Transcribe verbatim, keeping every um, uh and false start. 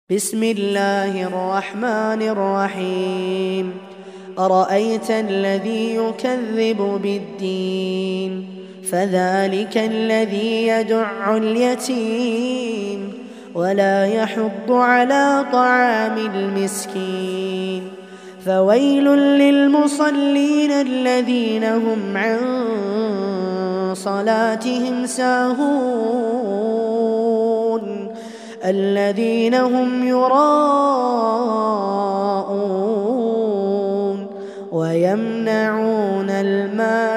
بسم الله الرحمن الرحيم أرأيت الذي يكذب بالدين فذلك الذي يدع اليتيم ولا يحض على طعام المسكين فويل للمصلين الذين هم عن صلاتهم ساهون الذين هم يراءون ويمنعون الماء